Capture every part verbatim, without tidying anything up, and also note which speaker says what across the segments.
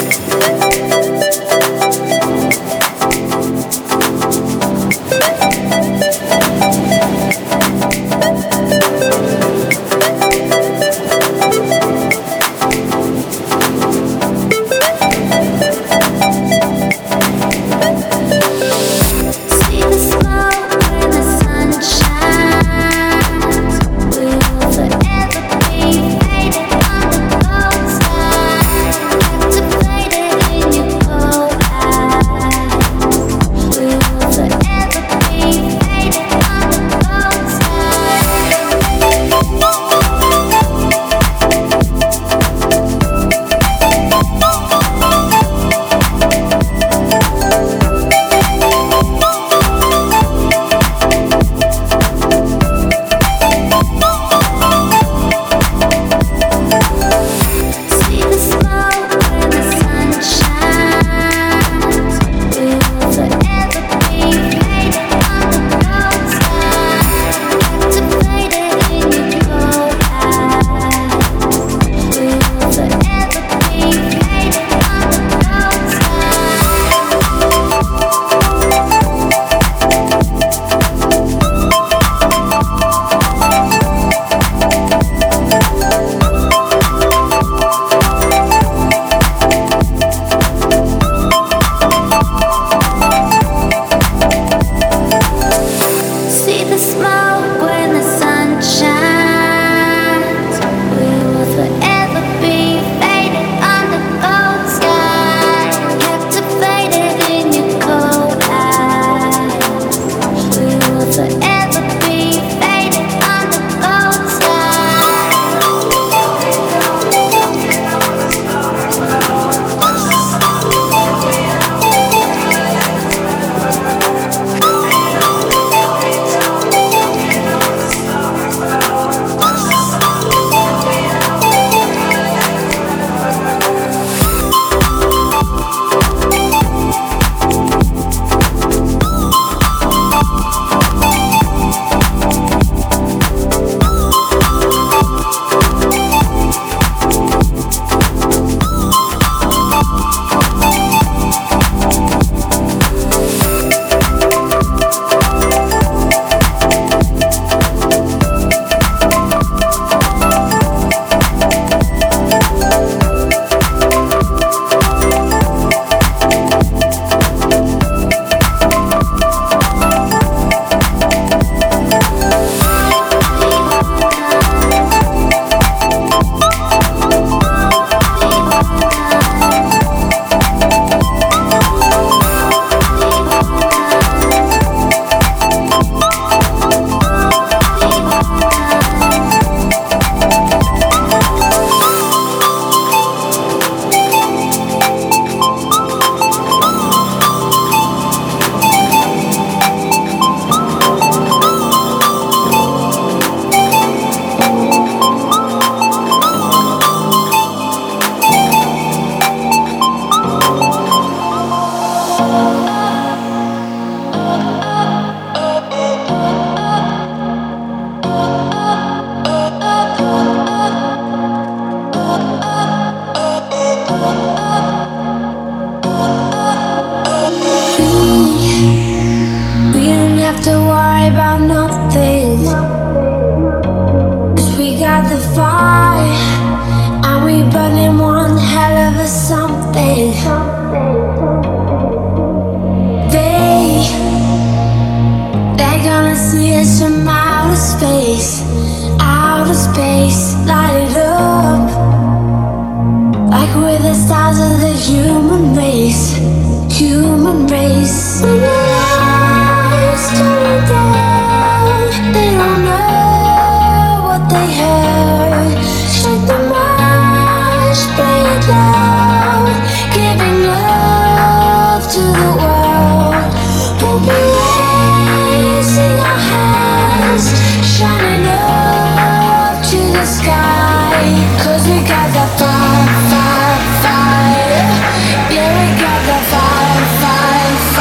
Speaker 1: Fire, fire, yeah, we got the fire, fire,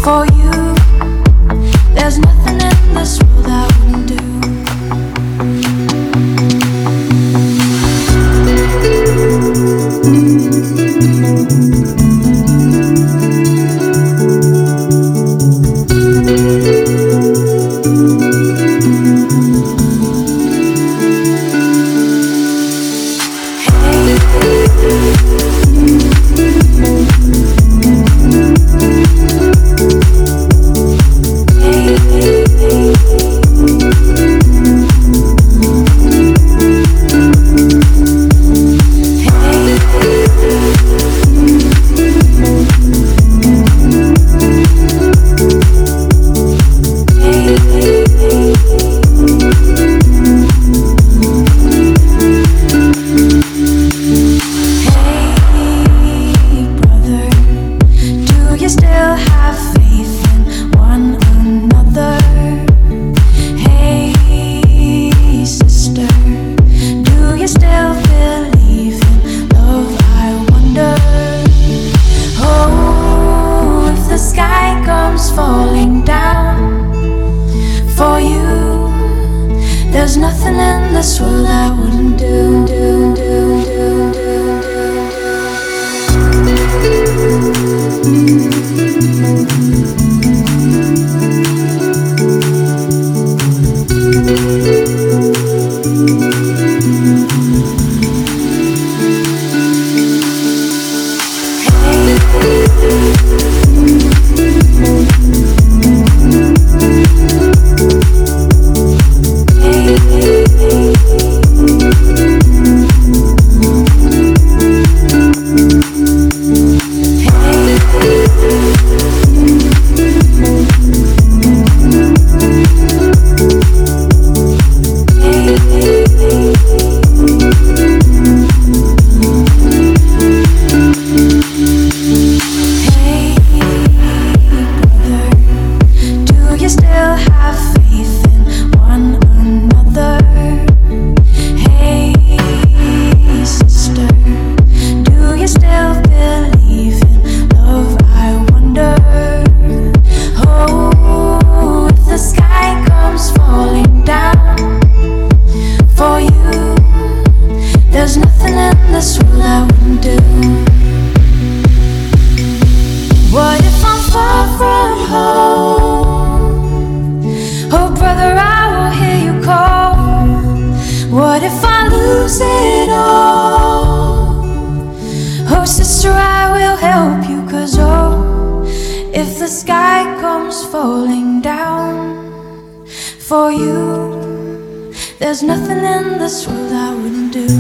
Speaker 1: For you, there's nothing in this world I wouldn't do. There's nothing in this world I wouldn't do, do, do, do, do, for you, there's nothing in this world I wouldn't do.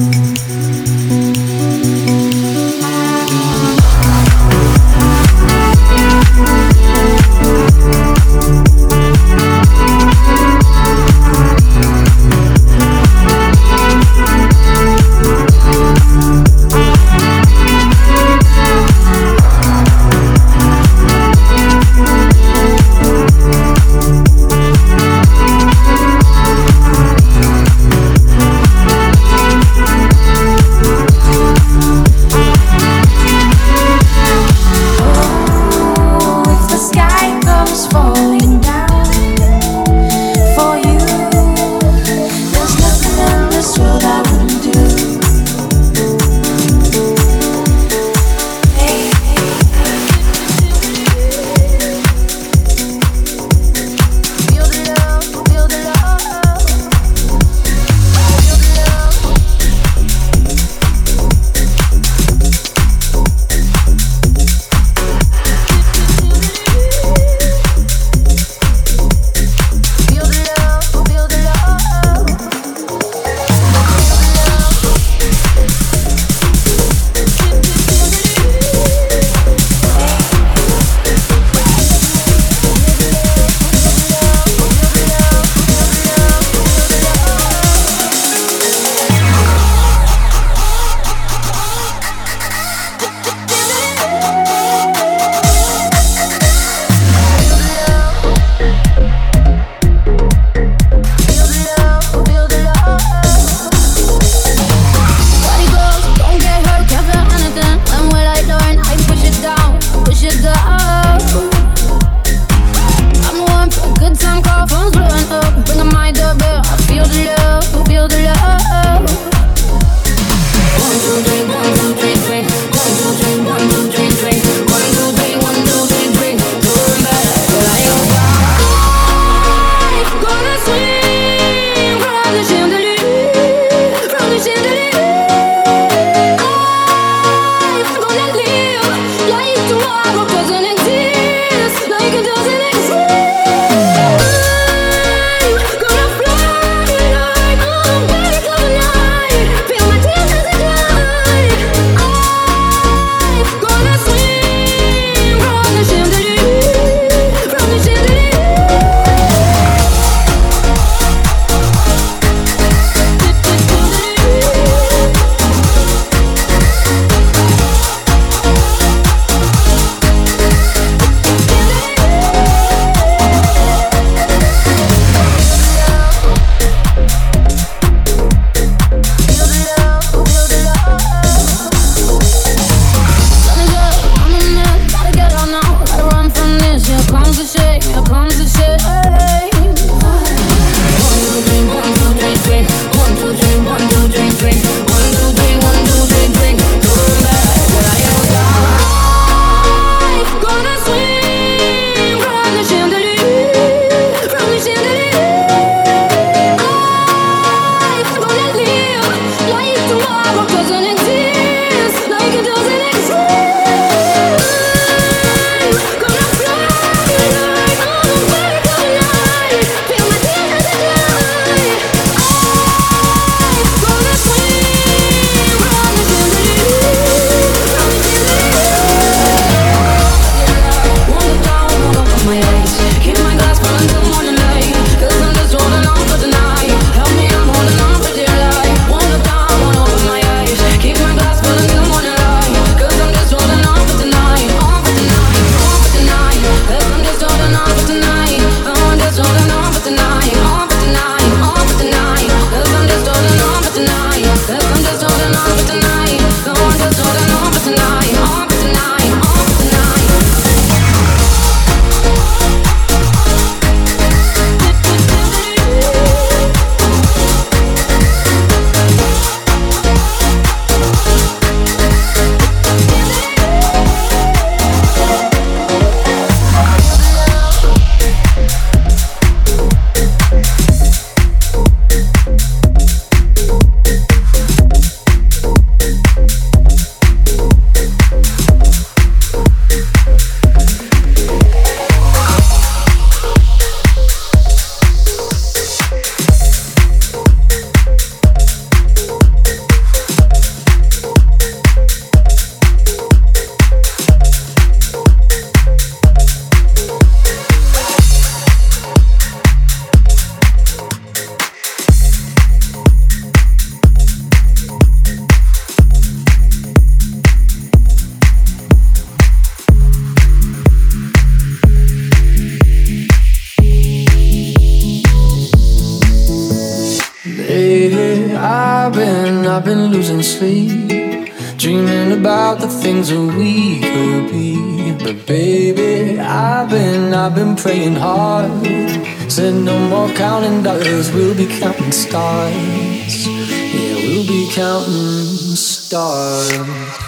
Speaker 1: I've been, I've been losing sleep, dreaming about the things that we could be. But baby, I've been, I've been praying hard. Said no more counting dollars, we'll be counting stars. Yeah, we'll be counting stars.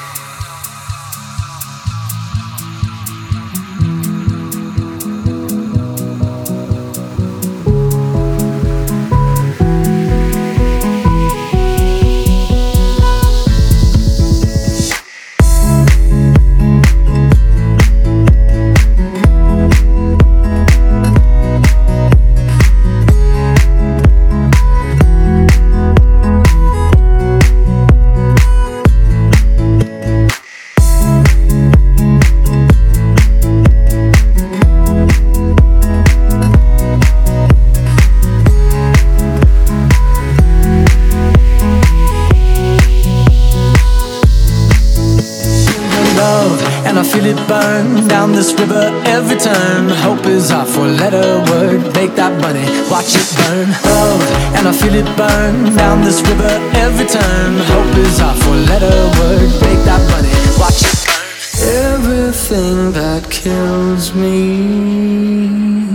Speaker 1: Burn down this river every turn. Hope is our four-letter word. Make that money, watch it burn. Love, and I feel it burn down this river every turn. Hope is our four-letter word. Make that money, watch it burn. Everything that kills me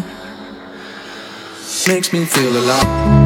Speaker 1: makes me feel alive.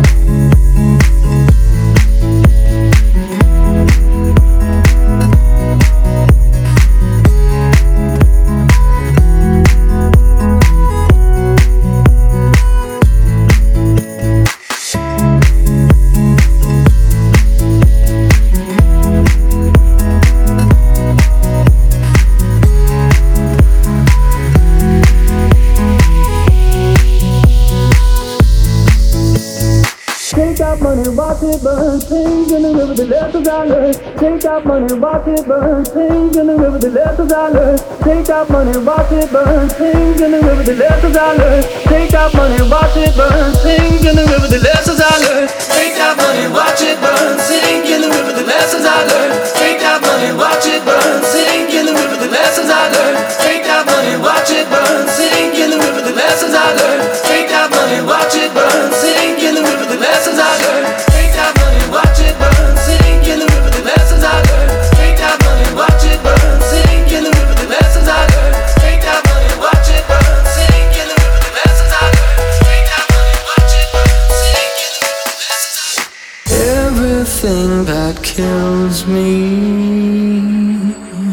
Speaker 1: Watch it burn, things in the river, the lessons I learned. Take that money, watch it burn, things in the river, the lessons I learned. Take that money, watch it burn, things in the river, the lessons I learned. Take that money, watch it burn, things in the river, the lessons I learned. Take that money, watch it burn, sing in the river, the lessons I learned. Take that money, watch it burn, sing in the river, the lessons I learned. Take that money, watch it burn, sing in the river, the lessons I learned. Take that money, watch it burn, sing in the river, the lessons I learned. Take that money, watch it burn, sing in the river, the lessons I learned. Take that money, watch it burn, sing in the river, the lessons I learned. Take that money, watch it burn, sing in the river, the lessons I learned. Take that money, watch it burn, sing in the river, the lessons I learned. Everything that kills me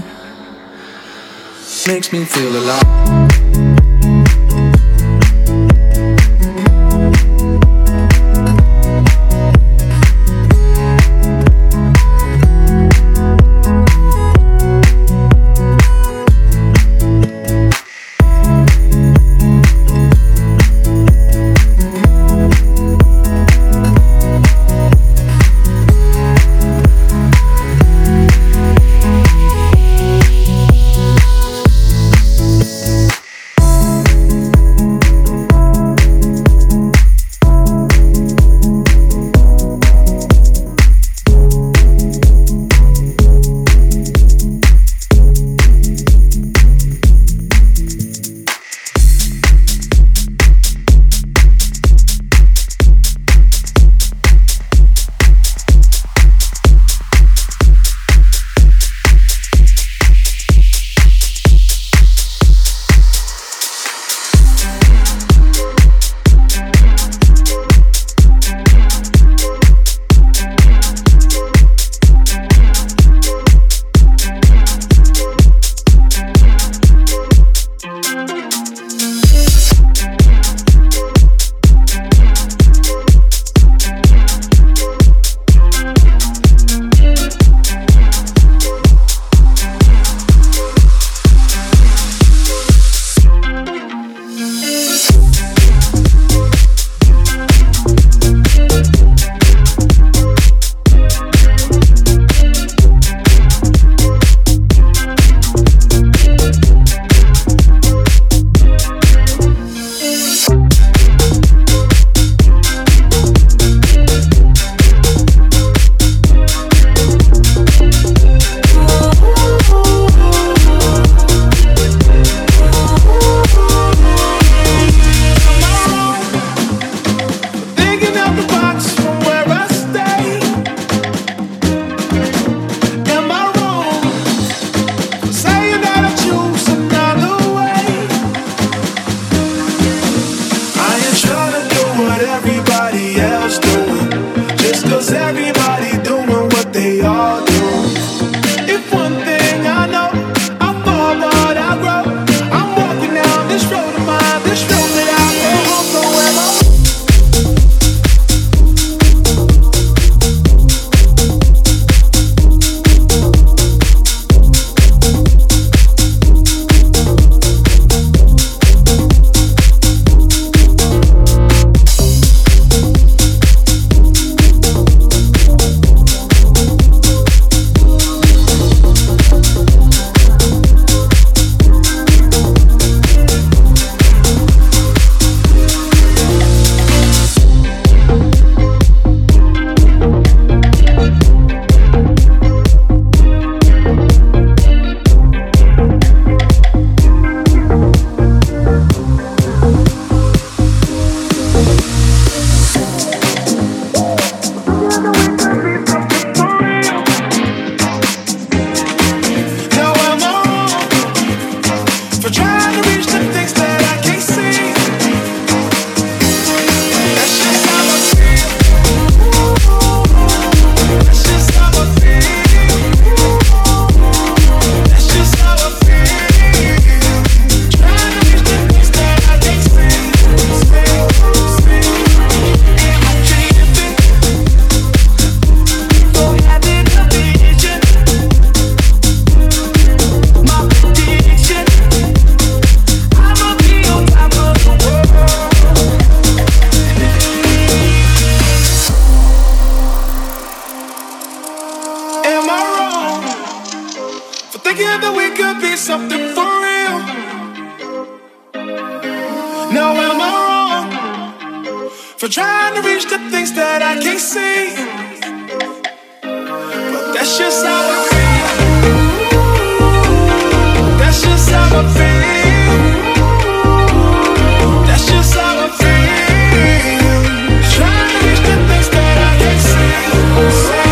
Speaker 1: makes me feel alive.
Speaker 2: for trying to reach the things that I can't see. But that's just how I feel. That's just how I feel. That's just how I feel. Trying to reach the things that I can't see. see.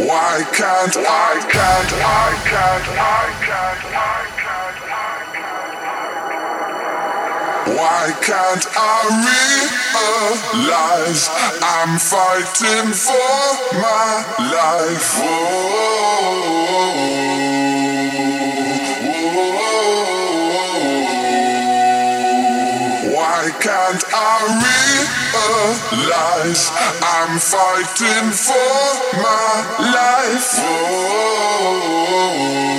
Speaker 2: Why can't I, can't I, can't I, can't I, can't I? Why can't I realize I'm fighting for my life? Whoa. Why can't I realize I'm fighting for my life? Whoa.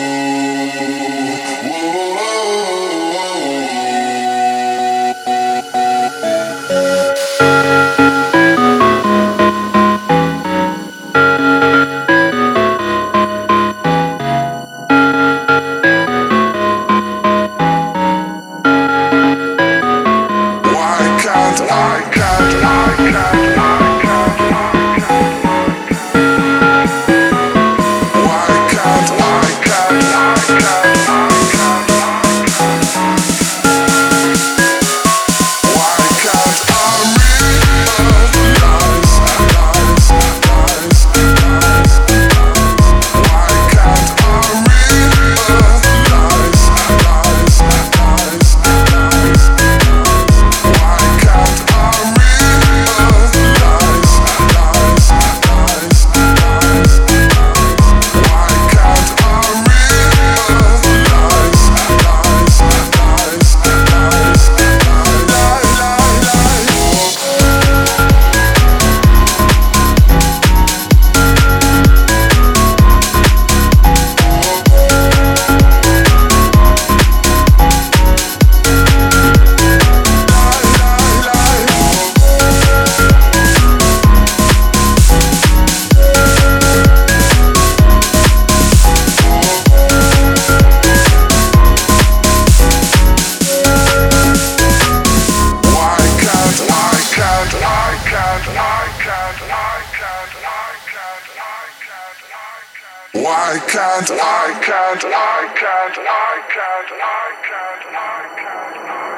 Speaker 2: Why can't I, can't I, can't I, can't I, can't I, can't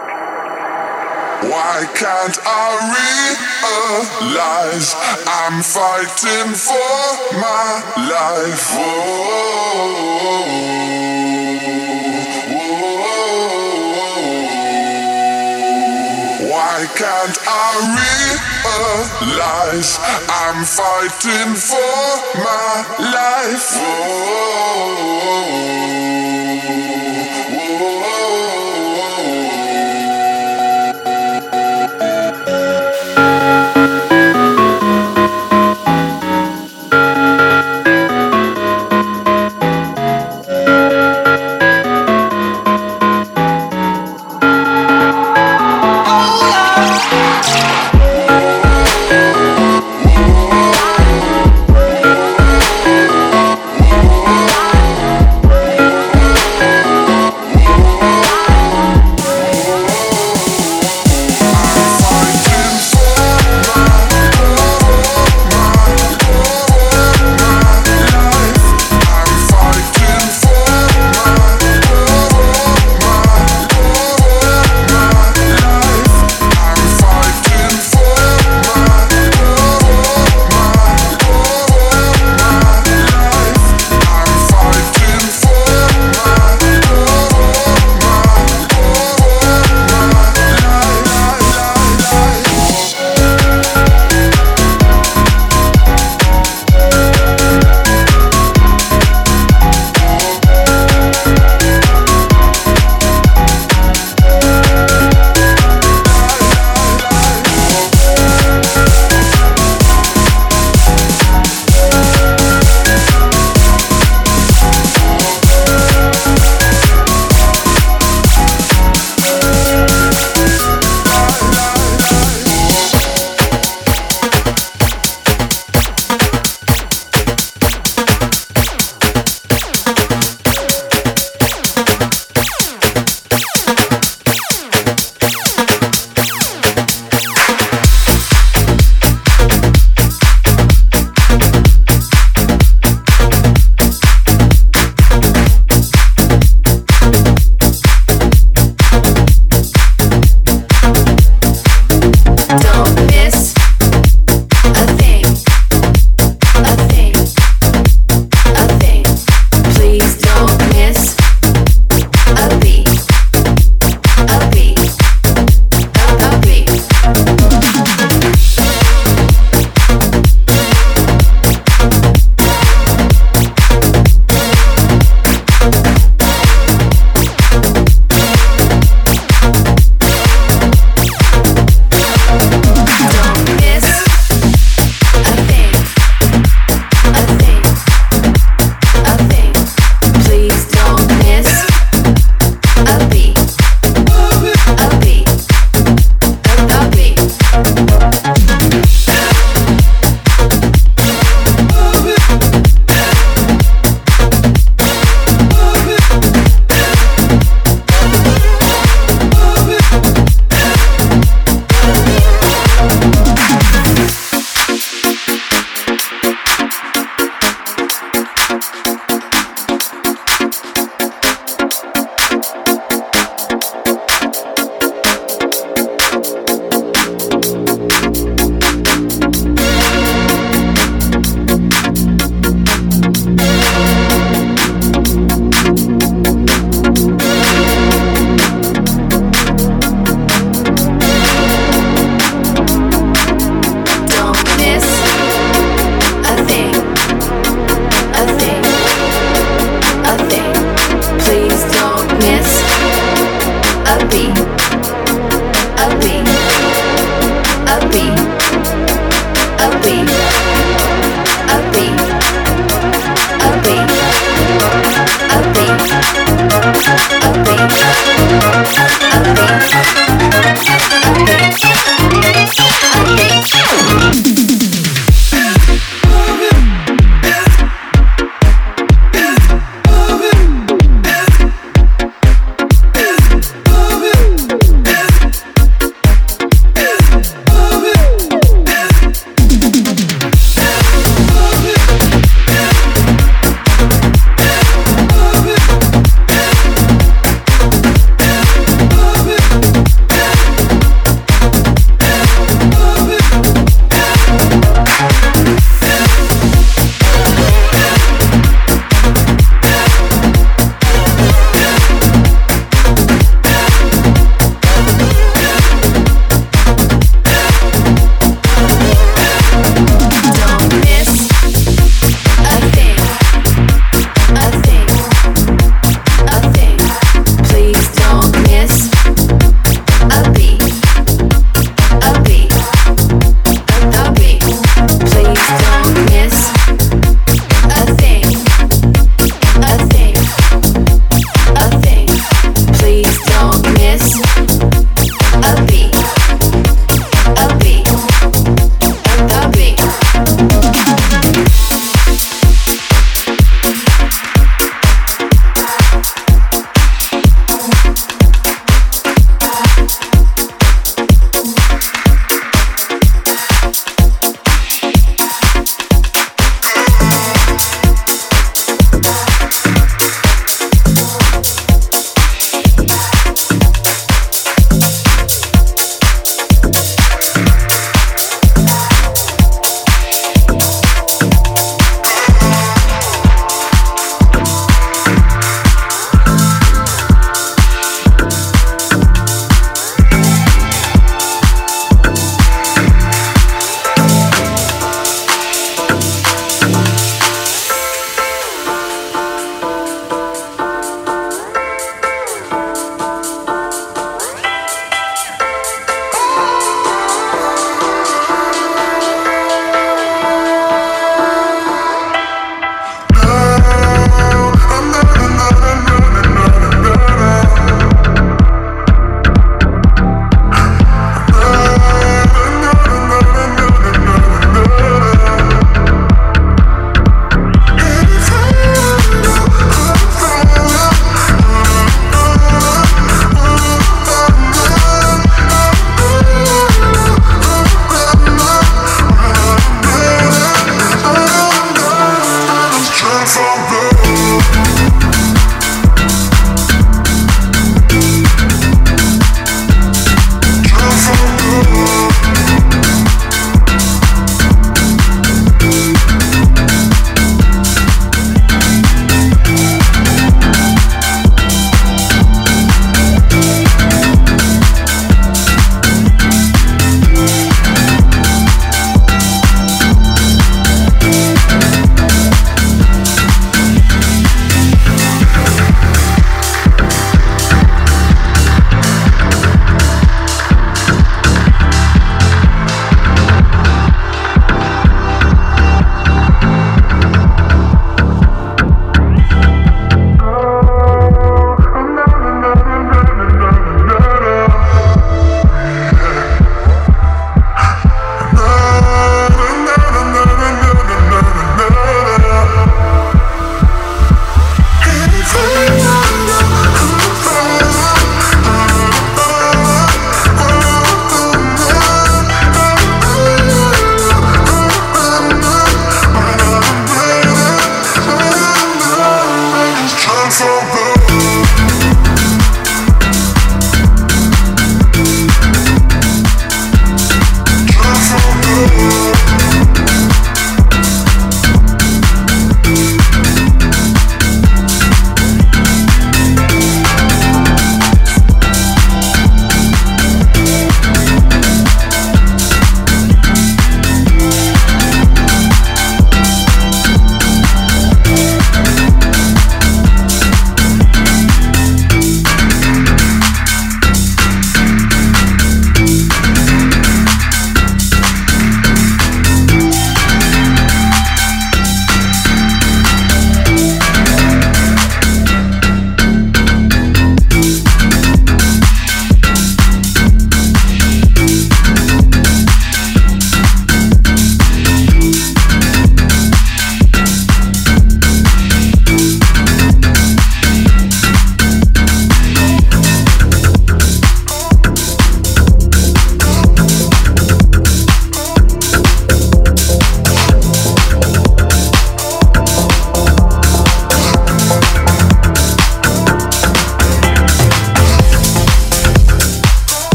Speaker 2: I? Why can't I realize I'm fighting for my life? Whoa. Why can't I realize I'm fighting for my life? Whoa.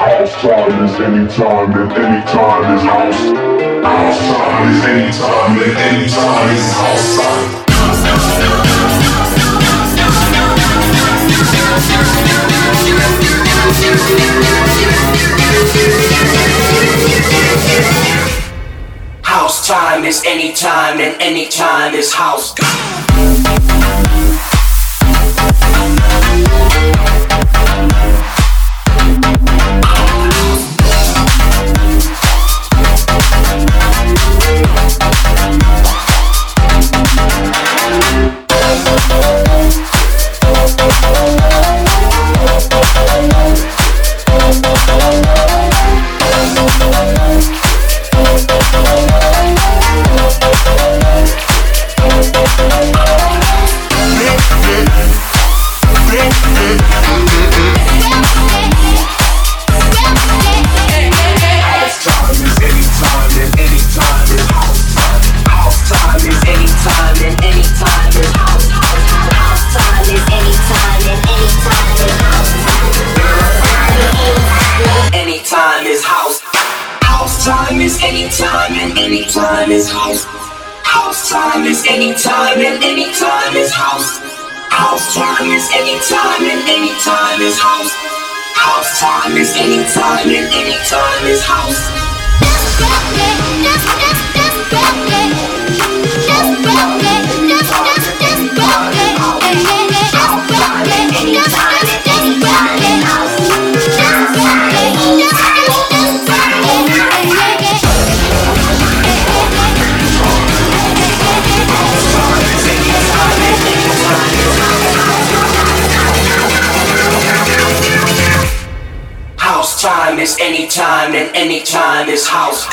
Speaker 2: House time is anytime and anytime is house. House time is anytime and anytime is house time.
Speaker 3: House time is anytime and anytime is house. Anytime is house. House time is anytime and anytime is house. House time is anytime and anytime is house. House time is anytime and anytime is house. Just rock it, just just just rock it. Just rock it, just just just rock it. Just rock it, just just just rock it. Just rock it, just just just rock it. House time is anytime and anytime is house.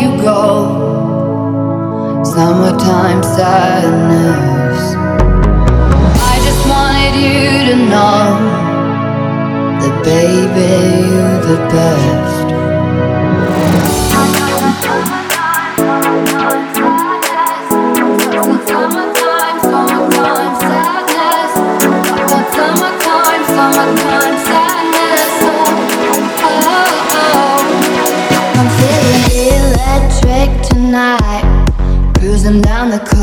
Speaker 4: Summertime sadness.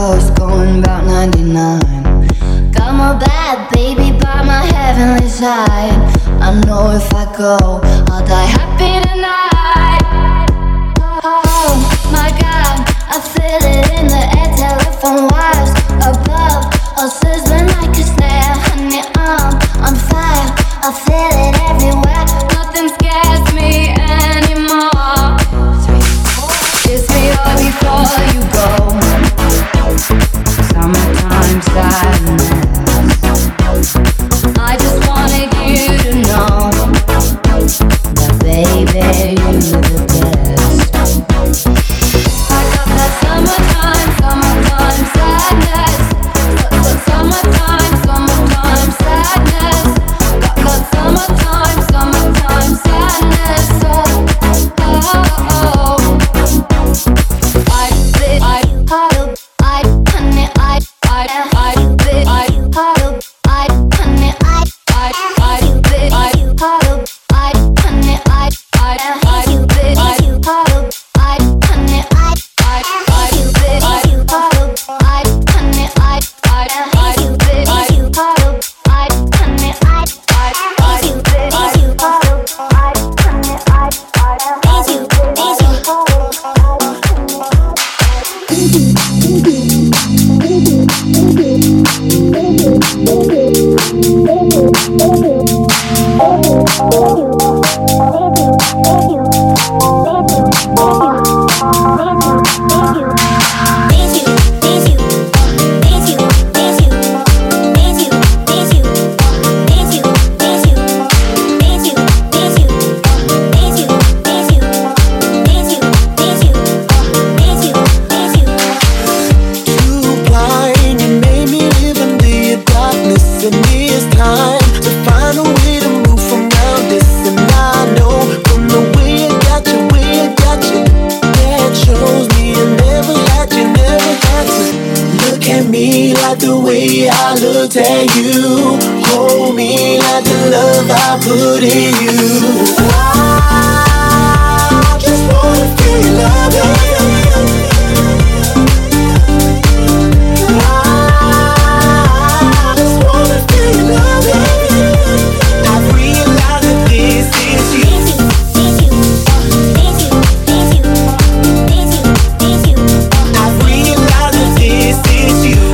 Speaker 4: coast, going about ninety-nine. Got my bad baby by my heavenly side. I know if I go, I'll die happy tonight. Oh my God, I feel it in the air, telephone wires above, all sizzling like a snare. Honey, I'm on fire, I feel it everywhere. Nothing scares me anymore. Kiss me all before you go. Summertime sadness. I just wanted you to know that baby, you're the best. I got that summertime, summertime sadness. Summertime, summertime sadness. Got that summertime, summertime sadness. Oh, oh, oh. I, I, I, I, honey, I, I, I, I, I, I, honey, I, I, I, I, I, honey, I, I, I, I, honey, I,
Speaker 5: looked at you. Hold me like the love I put in you. I just wanna feel your loving. I just wanna feel your loving. I realize that this is you. I realize that this is you.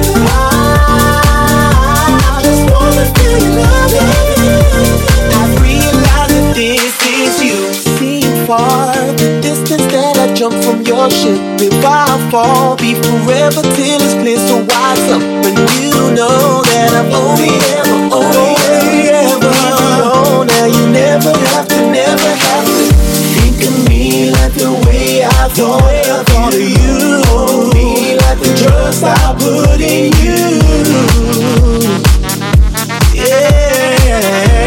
Speaker 5: I just wanna feel your loving. I realize that this is you. Seeing far the distance that I jump from your ship. If I fall, be forever till it's clear. So wise up, and you know that I'm only ever, only ever. Oh, now you never have to, never have to think of me like the way I thought of you. Hold me like the trust I put in you. Yeah.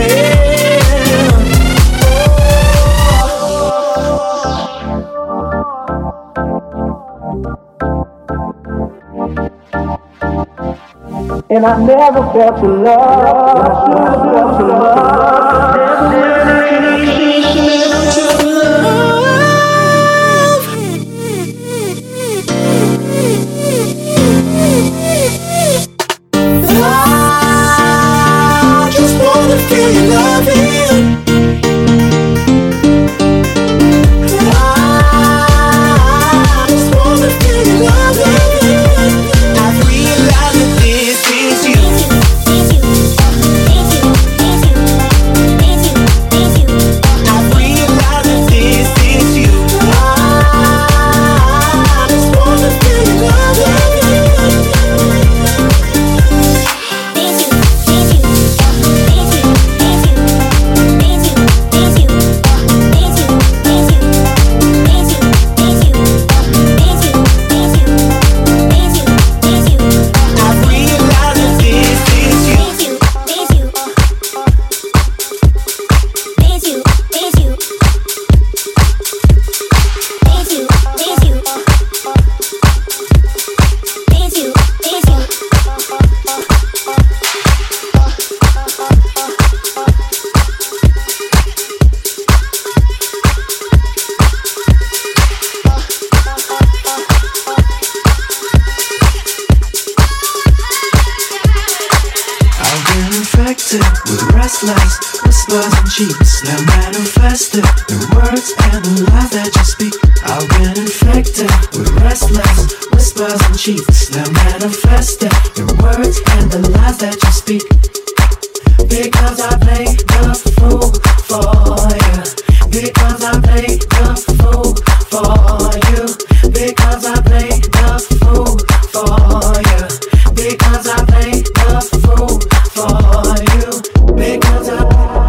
Speaker 1: And I never felt the love. I should have felt the love.
Speaker 5: I just wanna feel your loving. I just wanna feel your loving. I realize that this is you. I realize that this is you. I just wanna feel your loving. with restless whispers and cheats. Now manifested in words and the lies that you speak. I've been infected with restless whispers and cheats. Now manifested in words and the lies that you speak. Because I play the fool for you. Because I play the fool for you. Because I play the fool for you. Because I play the fool for you. Because I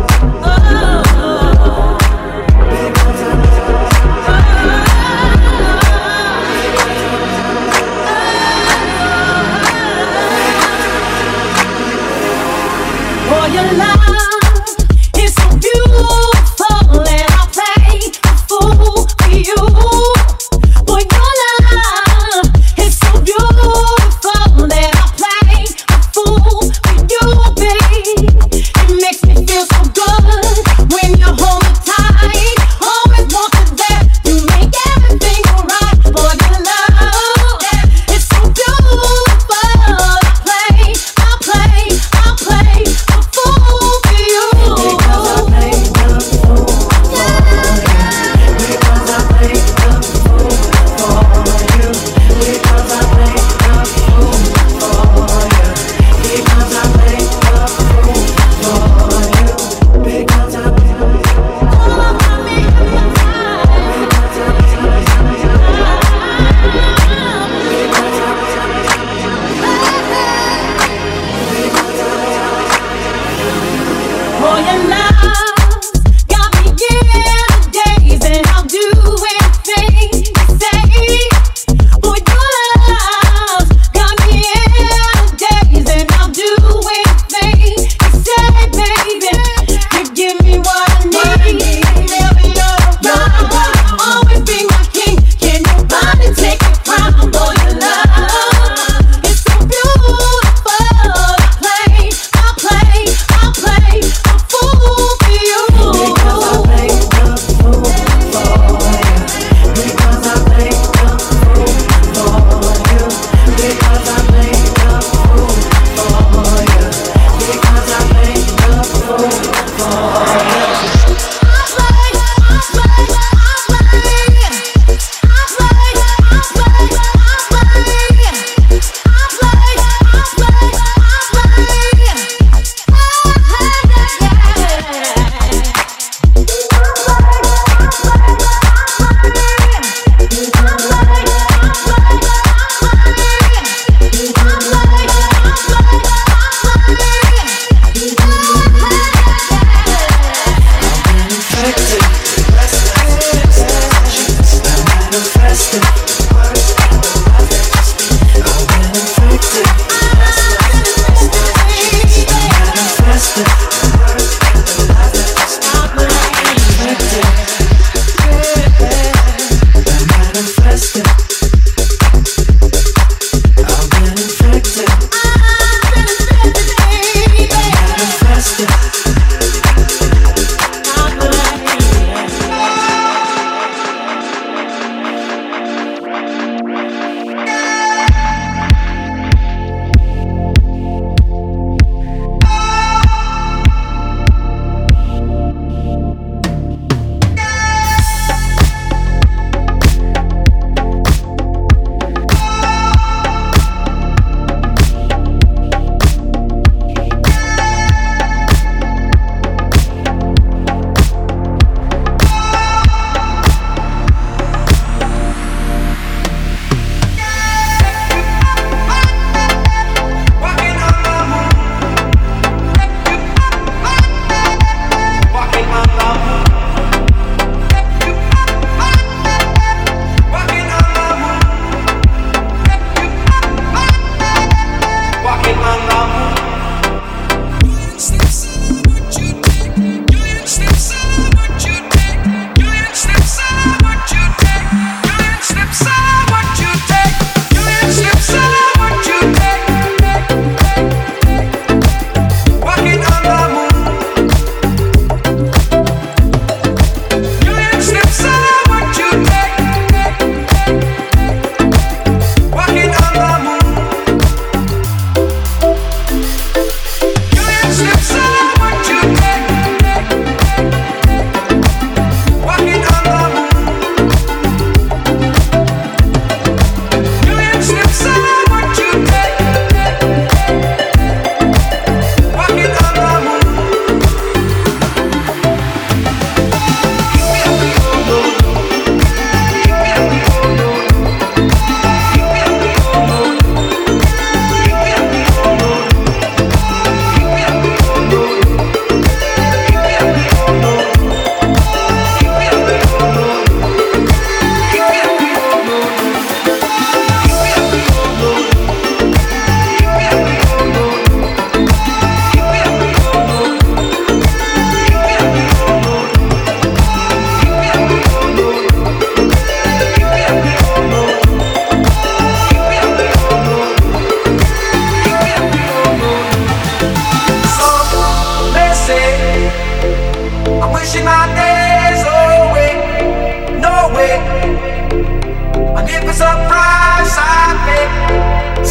Speaker 5: oh, because I
Speaker 6: for your love is so beautiful and I'll play a fool for you. For your love is so beautiful and I'll play a fool for you, babe. It makes me feel so good when you hold me tight. Always want you there, you make everything alright. For your love is so beautiful. I'll play, I'll play, I'll play a fool for you.
Speaker 5: Because I play the fool for you. Because I play the fool for you. Because I play the fool for you. Because I play the fool for you. Because I
Speaker 6: For your love got me in the days, and I'll do anything you say. For your love got me in the days, and I'll do anything you say, baby. You give me what I need, never you're always be my king. Can nobody take your crown? For your love is so beautiful. I'll play, I'll play, I'll play a fool for you.
Speaker 5: Because I play the fool for you. Because I play the fool for you. Because I play the fool for you. Because I play the fool for you.
Speaker 6: I'll play, I'll play, I'll play. I'll play, I'll play, I'll play. I'll play, I'll play, I'll play.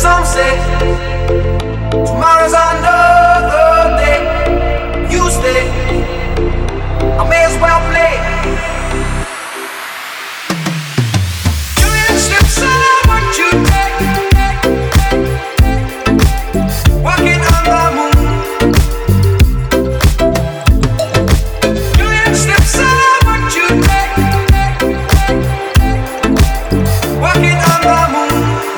Speaker 5: Some say tomorrow's another day. You stay, I may as well play. Doing steps on what you take, walking on the moon. Doing steps on what you take, walking on the moon.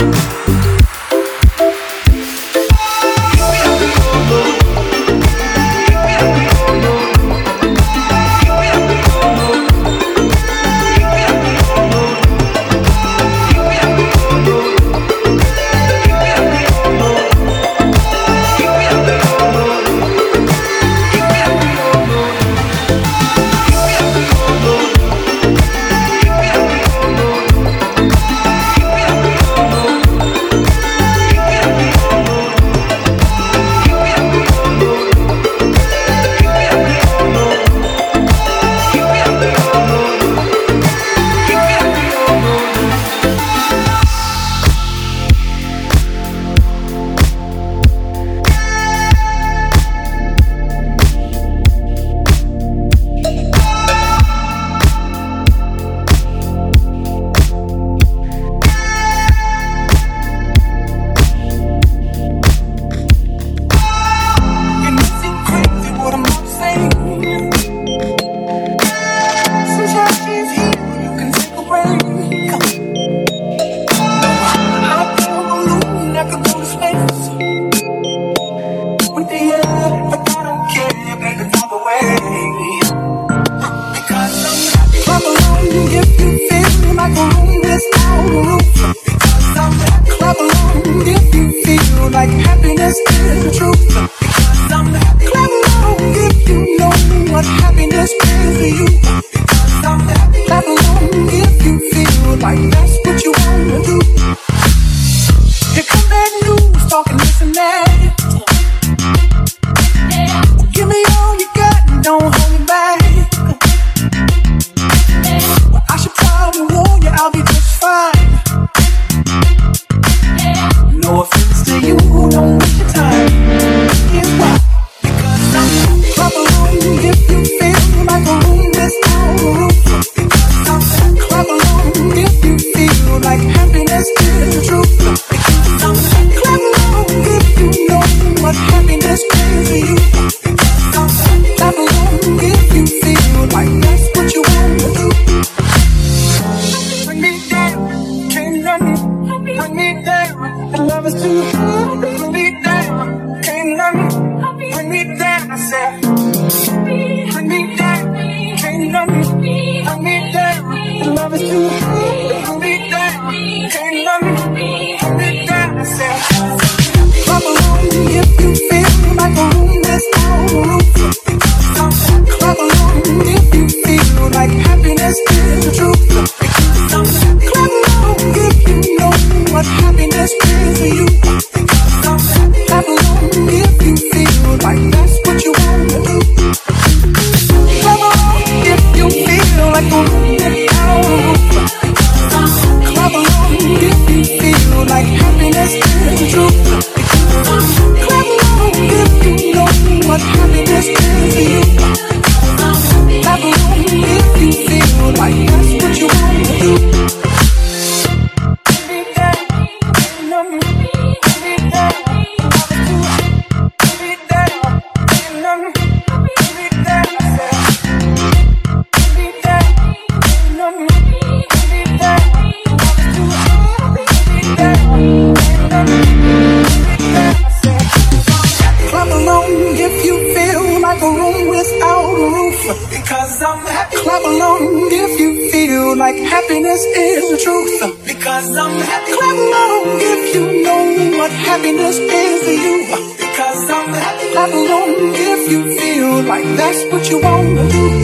Speaker 7: Clap along if you feel like happiness is the truth. Because I'm happy. Clap along if you know what happiness is to you. Because I'm happy. Clap along if you feel like that's what you want to do.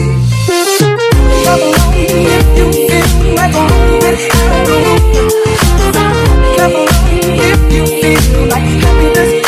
Speaker 7: Clap along if you feel like a room. Clap along if you feel like happiness